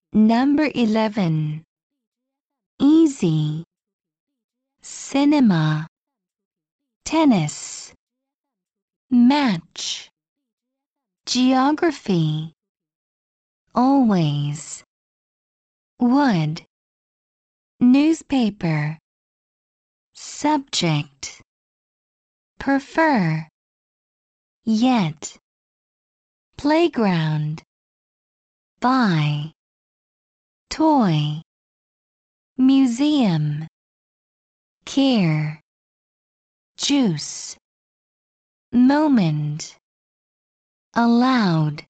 Number 11. Easy. Cinema. Tennis. Match. Geography. Always. Wood. Newspaper. Subject. Prefer. Yet. Playground. Buy. Toy. Museum. Care. Juice. Moment. Allowed.